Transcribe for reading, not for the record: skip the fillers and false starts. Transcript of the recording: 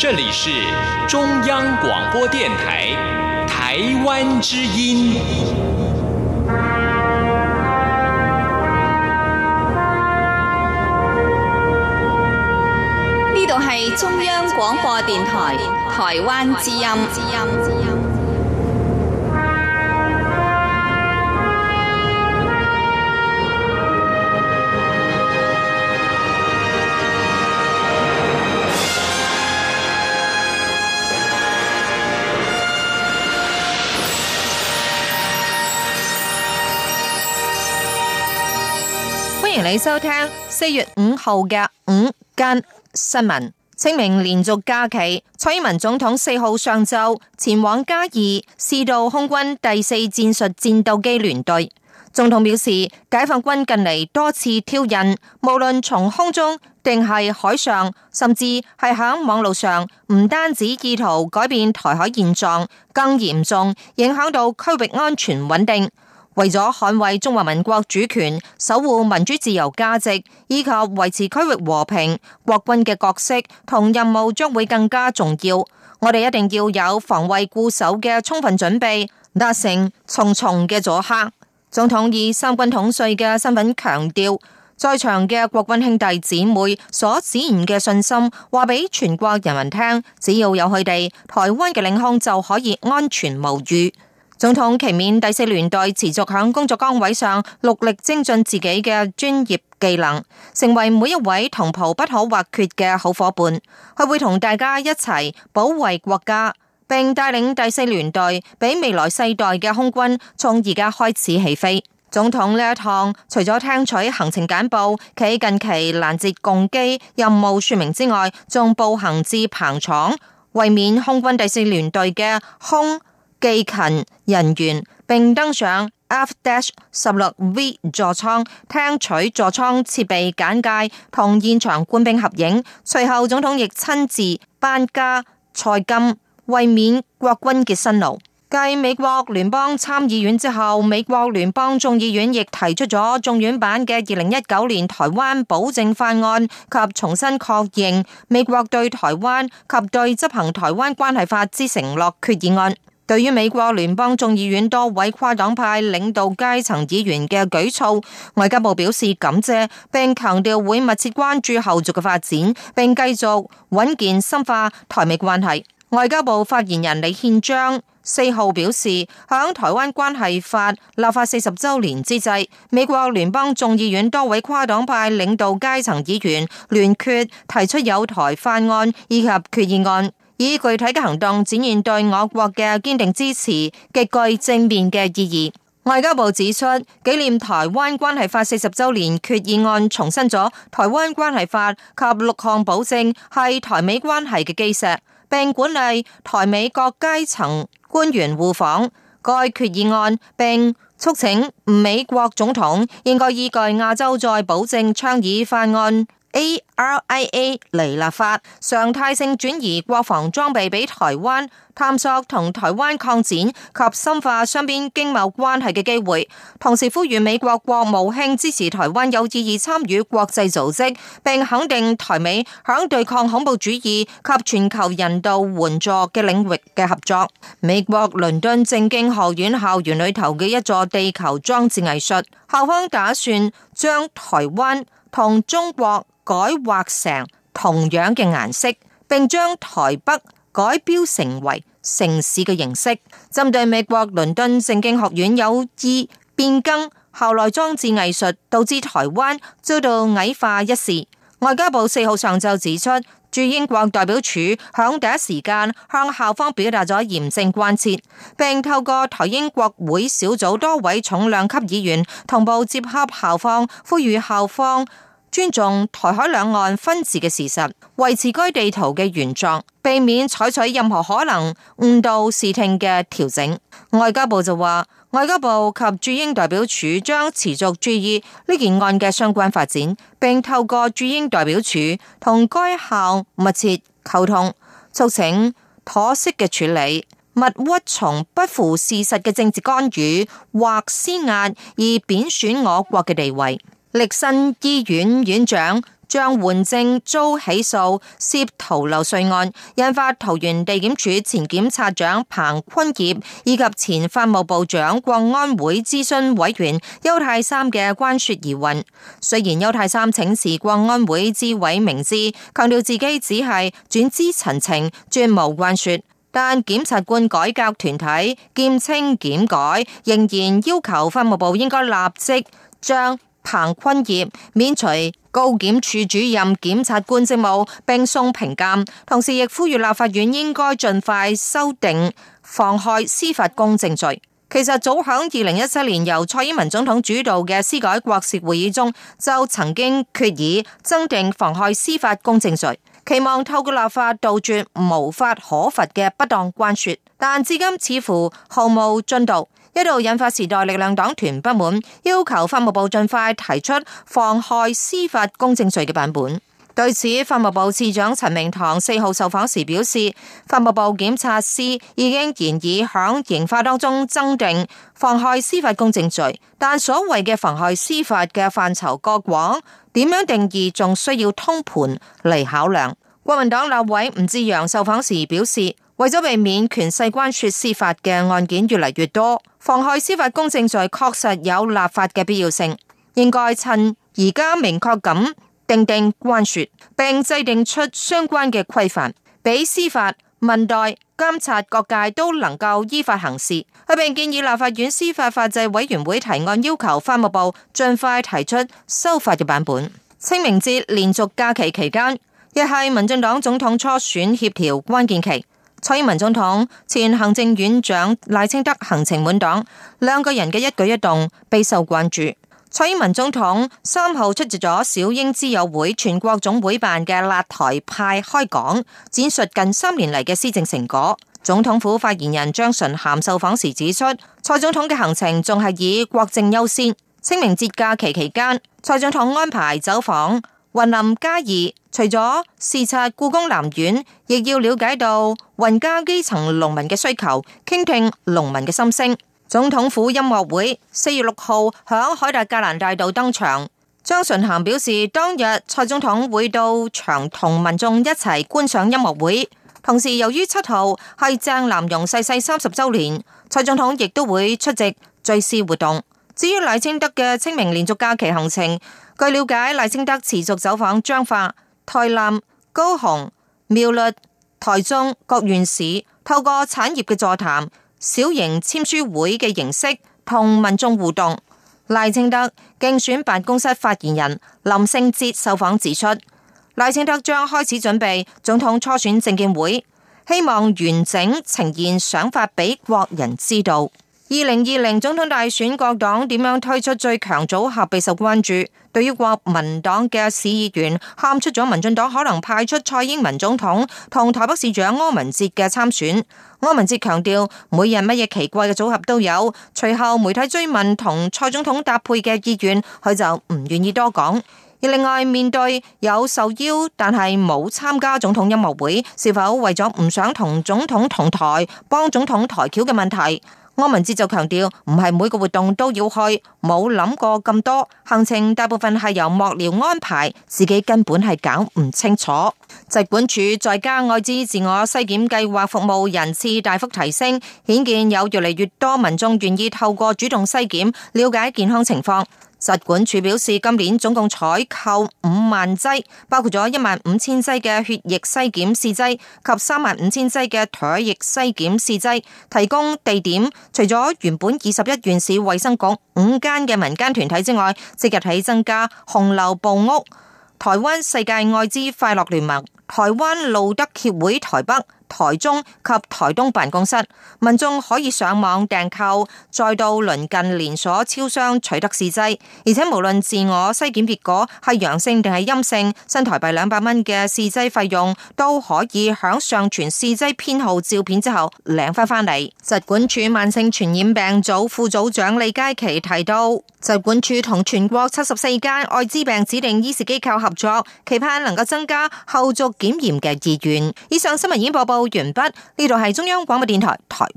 这里是中央广播电台台湾之音。 呢度係中央廣播電台台灣之音。 歡迎你收聽4月5號嘅午間新聞。清明連續假期，蔡英文總統4號上晝前往嘉義視導空軍第4戰術戰鬥機聯隊。總統表示，解放軍近嚟多次挑釁，無論從空中定係海上，甚至係響網路上，唔單止意圖改變台海現狀，更嚴重影響到區域安全穩定。為咗捍衛中華民國主權、守護民主自由價值以及維持區域和平，國軍嘅角色同任務將會更加重要。我哋一定要有防衛固守嘅充分準備，達成重重嘅阻嚇。總統以三軍統帥嘅身份強調，在場嘅國軍兄弟姊妹所展現嘅信心，話俾全國人民聽，只要有佢哋，台灣嘅領空就可以安全無虞。總統期勉第4聯隊持續響工作崗位上努力精進自己嘅專業技能，成為每一位同袍不可或缺嘅好夥伴。佢會同大家一齊保衛國家，並帶領第4聯隊俾未來世代嘅空軍從而家開始起飛。總統呢一趟除咗聽取行程簡報、企近期攔截共機任務說明之外，仲步行至棚廠，為免空軍第4聯隊嘅空技勤人員，並登上 F-16V 座艙，聽取座艙設備簡介同現場官兵合影。隨後總統亦親自頒加賽金，為免國軍嘅辛勞。繼美國聯邦參議院之後，美國聯邦眾議院亦提出咗眾院版嘅2019年台灣保證法案及重新確認美國對台灣及對執行台灣關係法之承諾決議案。對於美國聯邦眾議院多位跨黨派領導階層議員嘅舉措，外交部表示感謝，並強調會密切關注後續嘅發展，並繼續穩健深化台美關係。外交部發言人李憲章4號表示，響台灣關係法立法40週年之際，美國聯邦眾議院多位跨黨派領導階層議員聯決提出有台法案以及決議案，以具體嘅行動展現對我國嘅堅定支持，極具正面嘅意義。外交部指出，紀念台灣關係法40週年決議案重申咗台灣關係法及6項保證係台美關係嘅基石，並鼓勵台美各階層官員互訪該決議案，並促請美國總統應該依據亞洲再保證倡議法案ARIA 嚟立法，常態性轉移國防裝備俾台灣，探索同台灣擴展及深化雙邊經貿關係嘅機會。同時呼籲美國國務卿支持台灣有意義參與國際組織，並肯定台美響對抗恐怖主義及全球人道援助嘅領域嘅合作。美國倫敦政經學院校園裏頭嘅一座地球裝置藝術，校方打算將台灣同中國改畫成同樣嘅顏色，並將台北改標成為城市嘅形式。針對美國倫敦政經學院有意變更校內裝置藝術，導致台灣遭到矮化一事，外交部4號上晝指出，駐英國代表處響第一時間向校方表達咗嚴正關切，並透過台英國會小組多位重量級議員同步接洽校方，呼籲校方尊重台海兩岸分治嘅事實，維持該地圖嘅原狀，避免採取任何可能誤導視聽嘅調整。外交部就話，外交部及駐英代表處將持續注意呢件案嘅相關發展，並透過駐英代表處同該校密切溝通，促請妥適嘅處理，勿屈從不符事實嘅政治干預或施壓而貶損我國嘅地位。力新醫院院長張煥正遭起訴涉逃漏稅案，引發桃園地檢署前檢察長彭坤業以及前法務部長國安會諮詢委員邱太三嘅關說疑雲。雖然邱太三請辭國安會諮委明知，強調自己只係轉資陳情，絕無關說，但檢察官改革團體檢清檢改，仍然要求法務部應該立即將彭坤業免除高檢處主任檢察官職務，並送評鑑，同時亦呼籲立法院應該盡快修訂妨害司法公正罪。其實早響2017年由蔡英文總統主導嘅司改國是會議中，就曾經決議增訂妨害司法公正罪，期望透過立法杜絕無法可罰嘅不當關說，但至今似乎毫無進度，一度引發時代力量黨團不滿，要求法務部盡快提出妨害司法公正罪嘅版本。對此，法務部次長陳明堂4號受訪時表示，法務部檢察司已經研議響刑法當中增訂妨害司法公正罪，但所謂嘅妨害司法嘅範疇過廣，點樣定義仲需要通盤嚟考量。國民黨立委吳志揚受訪時表示，為咗避免權勢關說司法嘅案件越嚟越多，妨害司法公正罪確實有立法嘅必要性，應該趁而家明確咁訂定關說，並制定出相關嘅規範，俾司法、民代、監察各界都能夠依法行事。佢並建議立法院司法法制委員會提案，要求法務部盡快提出修法嘅版本。清明節連續假期期間，亦係民進黨總統初選協調關鍵期。蔡英文總統、前行政院長賴清德行程滿檔，兩個人嘅一舉一動備受關注。蔡英文總統3號出席咗小英之友會全國總會辦嘅辣台派開講，展述近3年嚟嘅施政成果。總統府發言人張純涵受訪時指出，蔡總統嘅行程仲係以國政優先。清明節假期期間，蔡總統安排走訪雲林嘉義，除咗視察故宮南院，亦要了解到雲嘉基層農民嘅需求，傾聽農民嘅心聲。總統府音樂會4月6號響凱達格蘭大道登場。張純涵表示，當日蔡總統會到場同民眾一齊觀賞音樂會，同時由於7號係鄭南榕逝世30週年，蔡總統亦都會出席追思活動。至於賴清德嘅清明連續假期行程，據了解，賴清德持續走訪彰化、台南、高雄、苗栗、台中各縣市，透過產業嘅座談、小型簽書會嘅形式同民眾互動。賴清德競選辦公室發言人林聖哲受訪指出，賴清德將開始準備總統初選政見會，希望完整呈現想法俾國人知道。2020總統大選，各黨點樣推出最強組合備受關注。對於國民黨嘅市議員喊出咗民進黨可能派出蔡英文總統同台北市長柯文哲嘅參選，柯文哲強調每日乜嘢奇怪嘅組合都有。隨後媒體追問同蔡總統搭配嘅意願，佢就唔願意多講。而另外，面對有受邀但係冇參加總統音樂會，是否為咗唔想同總統同台幫總統抬轎嘅問題，柯文哲就強調唔係每個活動都要去，冇諗過咁多，行程大部分係由幕僚安排，自己根本係搞唔清楚。疾管署在家愛滋自我篩檢計劃服務人次大幅提升，顯見有越嚟越多民眾願意透過主動篩檢了解健康情況。疾管署表示，今年總共採購5萬劑，包括咗15000劑嘅血液篩檢試劑及35000劑嘅唾液篩檢試劑，提供地點除咗原本21縣市衛生局5間嘅民間團體之外，即日起增加紅樓部屋、台灣世界愛滋快樂聯盟、台灣路德協會台北、台中及台東辦公室，民眾可以上網訂購，再到鄰近連鎖超商取得試劑，而且無論自我篩檢結果係陽性定係陰性，新台幣200蚊嘅試劑費用都可以響上傳試劑編號照片之後領翻嚟。疾管署慢性傳染病組副組長李佳琪提到，疾管署同全國74間愛滋病指定醫事機構合作，期盼能夠增加後續檢驗嘅意願。以上新聞已經播報完畢，呢度係中央廣播電台台